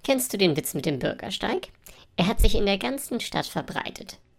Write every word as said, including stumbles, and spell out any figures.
Kennst du den Witz mit dem Bürgersteig? Er hat sich in der ganzen Stadt verbreitet.